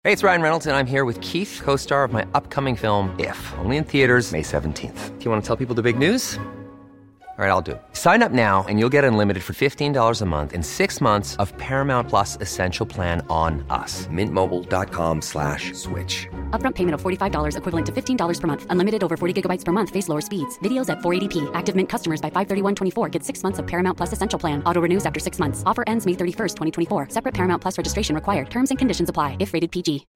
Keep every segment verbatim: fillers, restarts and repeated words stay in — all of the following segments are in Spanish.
Hey, it's Ryan Reynolds, and I'm here with Keith, co-star of my upcoming film, If, only in theaters May seventeenth. Do you want to tell people the big news? All right, I'll do it. Sign up now and you'll get unlimited for fifteen dollars a month and six months of Paramount Plus Essential Plan on us. Mint Mobile dot com slash switch. Upfront payment of forty-five dollars equivalent to fifteen dollars per month. Unlimited over forty gigabytes per month. Face lower speeds. Videos at four eighty p. Active Mint customers by five thirty-one twenty-four get six months of Paramount Plus Essential Plan. Auto renews after six months. Offer ends May thirty-first, twenty twenty-four. Separate Paramount Plus registration required. Terms and conditions apply if rated P G.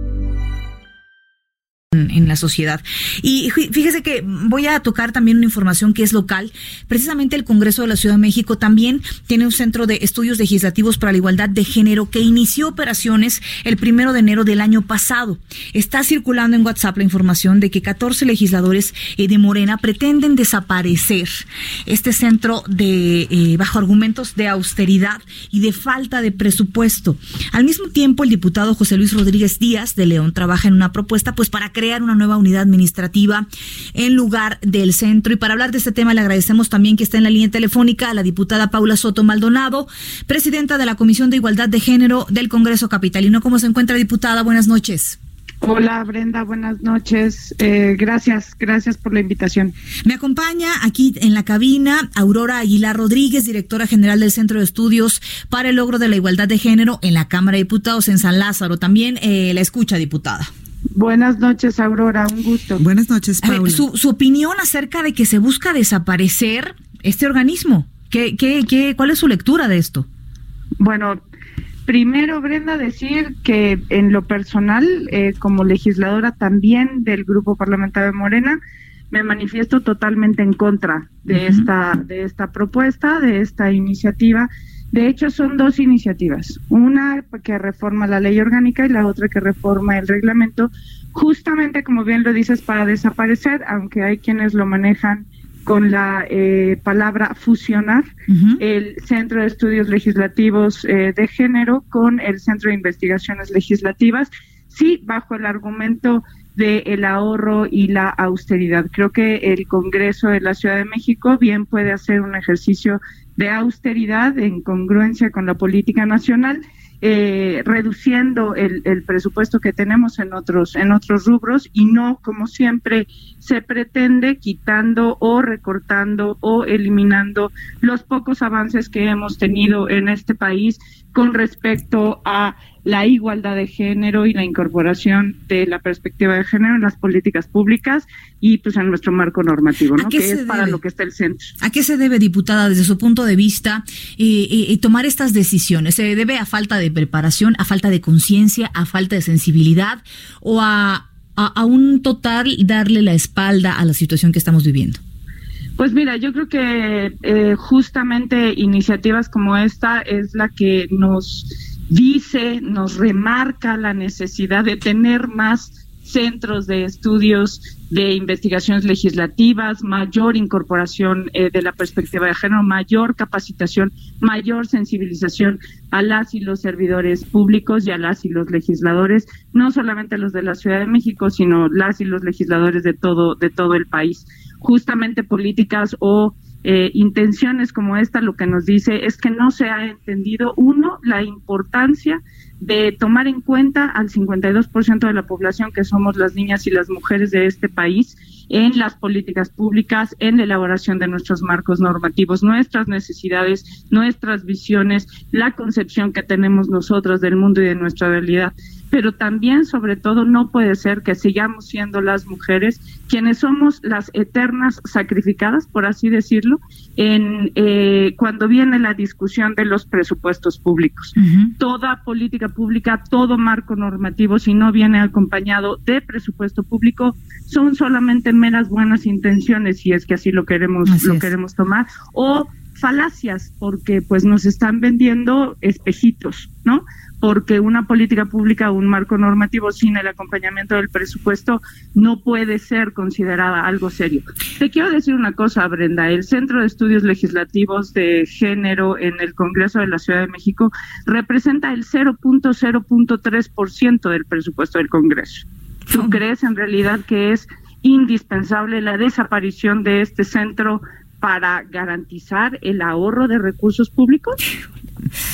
En la sociedad. Y fíjese que voy a tocar también una información que es local. Precisamente el Congreso de la Ciudad de México también tiene un centro de estudios legislativos para la igualdad de género que inició operaciones el primero de enero del año pasado. Está circulando en WhatsApp la información de que catorce legisladores eh, de Morena pretenden desaparecer este centro de eh, bajo argumentos de austeridad y de falta de presupuesto. Al mismo tiempo, el diputado José Luis Rodríguez Díaz de León trabaja en una propuesta pues para crear una nueva unidad administrativa en lugar del centro. Y para hablar de este tema le agradecemos también que está en la línea telefónica a la diputada Paula Soto Maldonado, presidenta de la Comisión de Igualdad de Género del Congreso Capitalino. ¿Cómo se encuentra, diputada? Buenas noches. Hola, Brenda, buenas noches. Eh, gracias, gracias por la invitación. Me acompaña aquí en la cabina Aurora Aguilar Rodríguez, directora general del Centro de Estudios para el Logro de la Igualdad de Género en la Cámara de Diputados en San Lázaro. También eh, la escucha, diputada. Buenas noches, Aurora, un gusto. Buenas noches, Paula. Ver, su, su opinión acerca de que se busca desaparecer este organismo. ¿Qué, qué, qué, ¿Cuál es su lectura de esto? Bueno, primero, Brenda, decir que en lo personal, eh, como legisladora también del Grupo Parlamentario de Morena, me manifiesto totalmente en contra de uh-huh. esta, de esta propuesta, de esta iniciativa. De hecho, son dos iniciativas, una que reforma la ley orgánica y la otra que reforma el reglamento, justamente como bien lo dices, para desaparecer, aunque hay quienes lo manejan con la eh, palabra fusionar, uh-huh. el Centro de Estudios Legislativos eh, de Género con el Centro de Investigaciones Legislativas, sí, bajo el argumento de el ahorro y la austeridad. Creo que el Congreso de la Ciudad de México bien puede hacer un ejercicio de austeridad en congruencia con la política nacional, eh, reduciendo el, el presupuesto que tenemos en otros en otros rubros y no, como siempre se pretende, quitando o recortando o eliminando los pocos avances que hemos tenido en este país con respecto a la igualdad de género y la incorporación de la perspectiva de género en las políticas públicas y pues en nuestro marco normativo, ¿no? Que es debe? para lo que está el centro. ¿A qué se debe, diputada, desde su punto de vista, eh, eh, tomar estas decisiones? ¿Se debe a falta de preparación, a falta de conciencia, a falta de sensibilidad o a, a, a un total darle la espalda a la situación que estamos viviendo? Pues mira, yo creo que eh, justamente iniciativas como esta es la que nos dice, nos remarca la necesidad de tener más centros de estudios de investigaciones legislativas, mayor incorporación eh, de la perspectiva de género, mayor capacitación, mayor sensibilización a las y los servidores públicos y a las y los legisladores, no solamente los de la Ciudad de México, sino las y los legisladores de todo, de todo el país. Justamente políticas o Eh, intenciones como esta lo que nos dice es que no se ha entendido, uno, la importancia de tomar en cuenta al cincuenta y dos por ciento de la población que somos las niñas y las mujeres de este país en las políticas públicas, en la elaboración de nuestros marcos normativos, nuestras necesidades, nuestras visiones, la concepción que tenemos nosotros del mundo y de nuestra realidad. Pero también, sobre todo, no puede ser que sigamos siendo las mujeres quienes somos las eternas sacrificadas, por así decirlo, en eh, cuando viene la discusión de los presupuestos públicos. Uh-huh. Toda política pública, todo marco normativo, si no viene acompañado de presupuesto público, son solamente meras buenas intenciones, si es que así lo queremos, así lo es. queremos tomar, o falacias, porque pues nos están vendiendo espejitos, ¿no? Porque una política pública o un marco normativo sin el acompañamiento del presupuesto no puede ser considerada algo serio. Te quiero decir una cosa, Brenda, el Centro de Estudios Legislativos de Género en el Congreso de la Ciudad de México representa el cero punto cero punto tres por ciento del presupuesto del Congreso. ¿Tú crees en realidad que es indispensable la desaparición de este centro para garantizar el ahorro de recursos públicos?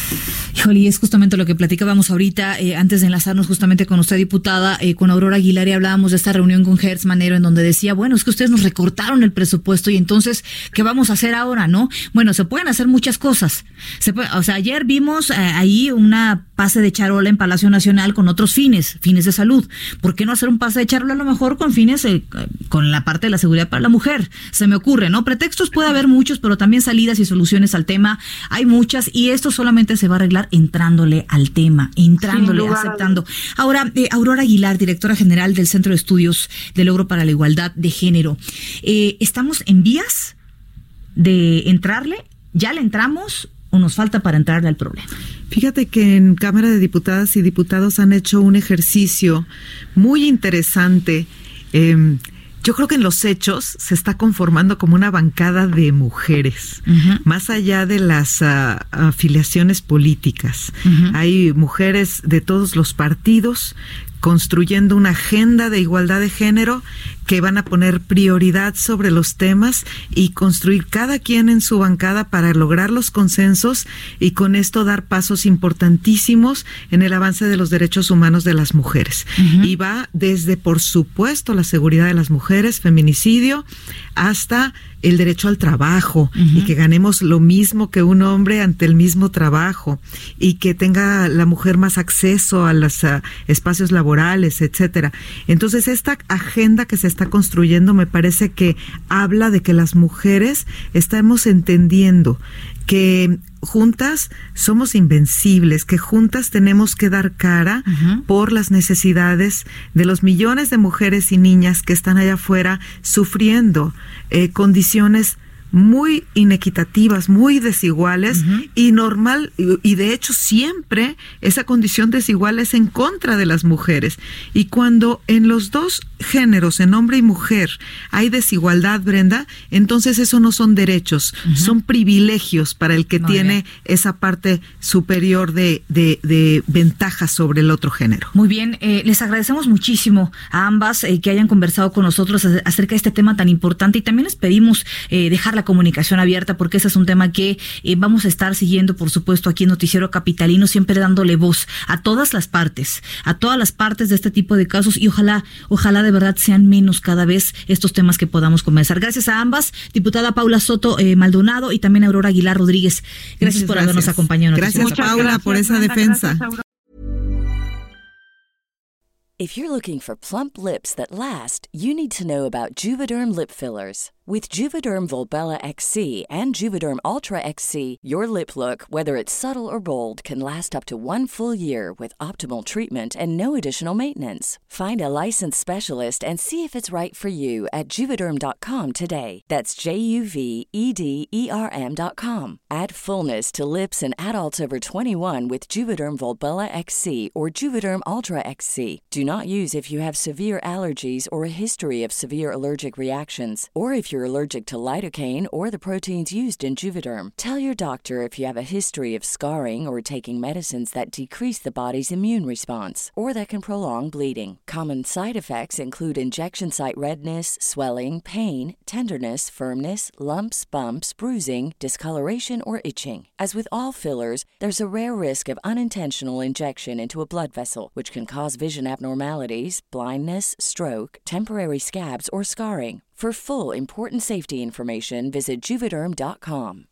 Híjole, y es justamente lo que platicábamos ahorita, eh, antes de enlazarnos justamente con usted, diputada, eh, con Aurora Aguilar, y hablábamos de esta reunión con Hertz Manero, en donde decía, bueno, es que ustedes nos recortaron el presupuesto y entonces, ¿qué vamos a hacer ahora, no? Bueno, se pueden hacer muchas cosas. Se puede, o sea, ayer vimos eh, ahí una pase de charola en Palacio Nacional con otros fines, fines de salud. ¿Por qué no hacer un pase de charola a lo mejor con fines, eh, con la parte de la seguridad para la mujer? Se me ocurre, ¿no? Pretextos puede haber muchos, pero también salidas y soluciones al tema hay muchas, y esto solamente se va a arreglar entrándole al tema, entrándole, aceptando. Ahora, eh, Aurora Aguilar, directora general del Centro de Estudios de Logro para la Igualdad de Género, eh, ¿estamos en vías de entrarle? ¿Ya le entramos o nos falta para entrarle al problema? Fíjate que en Cámara de Diputadas y Diputados han hecho un ejercicio muy interesante. Eh, Yo creo que en los hechos se está conformando como una bancada de mujeres, uh-huh. más allá de las uh, afiliaciones políticas. Uh-huh. Hay mujeres de todos los partidos construyendo una agenda de igualdad de género que van a poner prioridad sobre los temas y construir cada quien en su bancada para lograr los consensos y con esto dar pasos importantísimos en el avance de los derechos humanos de las mujeres. Uh-huh. Y va desde, por supuesto, la seguridad de las mujeres, feminicidio, hasta el derecho al trabajo, uh-huh. y que ganemos lo mismo que un hombre ante el mismo trabajo, y que tenga la mujer más acceso a los uh, espacios laborales, etcétera. Entonces, esta agenda que se está construyendo me parece que habla de que las mujeres estamos entendiendo que juntas somos invencibles, que juntas tenemos que dar cara uh-huh. por las necesidades de los millones de mujeres y niñas que están allá afuera sufriendo eh, condiciones muy inequitativas, muy desiguales, uh-huh. y normal, y, y de hecho siempre esa condición desigual es en contra de las mujeres. Y cuando en los dos géneros, en hombre y mujer, hay desigualdad, Brenda, entonces eso no son derechos, uh-huh. son privilegios para el que muy tiene bien. Esa parte superior de, de, de ventaja sobre el otro género. Muy bien, eh, les agradecemos muchísimo a ambas eh, que hayan conversado con nosotros acerca de este tema tan importante, y también les pedimos eh, dejar la comunicación abierta, porque ese es un tema que eh, vamos a estar siguiendo, por supuesto, aquí en Noticiero Capitalino, siempre dándole voz a todas las partes, a todas las partes de este tipo de casos, y ojalá, ojalá de verdad sean menos cada vez estos temas que podamos conversar. Gracias a ambas, diputada Paula Soto eh, Maldonado y también Aurora Aguilar Rodríguez. Gracias Muchas por gracias. habernos acompañado. En gracias, Paula, gracias, por esa Brenda, defensa. Gracias, If you're looking for plump lips that last, you need to know about Juvederm lip fillers. With Juvederm Volbella X C and Juvederm Ultra X C, your lip look, whether it's subtle or bold, can last up to one full year with optimal treatment and no additional maintenance. Find a licensed specialist and see if it's right for you at Juvederm dot com today. That's J U V E D E R M dot com. Add fullness to lips in adults over twenty-one with Juvederm Volbella X C or Juvederm Ultra X C. Do not use if you have severe allergies or a history of severe allergic reactions, or if you're allergic to lidocaine or the proteins used in Juvederm. Tell your doctor if you have a history of scarring or taking medicines that decrease the body's immune response or that can prolong bleeding. Common side effects include injection site redness, swelling, pain, tenderness, firmness, lumps, bumps, bruising, discoloration, or itching. As with all fillers, there's a rare risk of unintentional injection into a blood vessel, which can cause vision abnormalities, blindness, stroke, temporary scabs, or scarring. For full, important safety information, visit Juvederm dot com.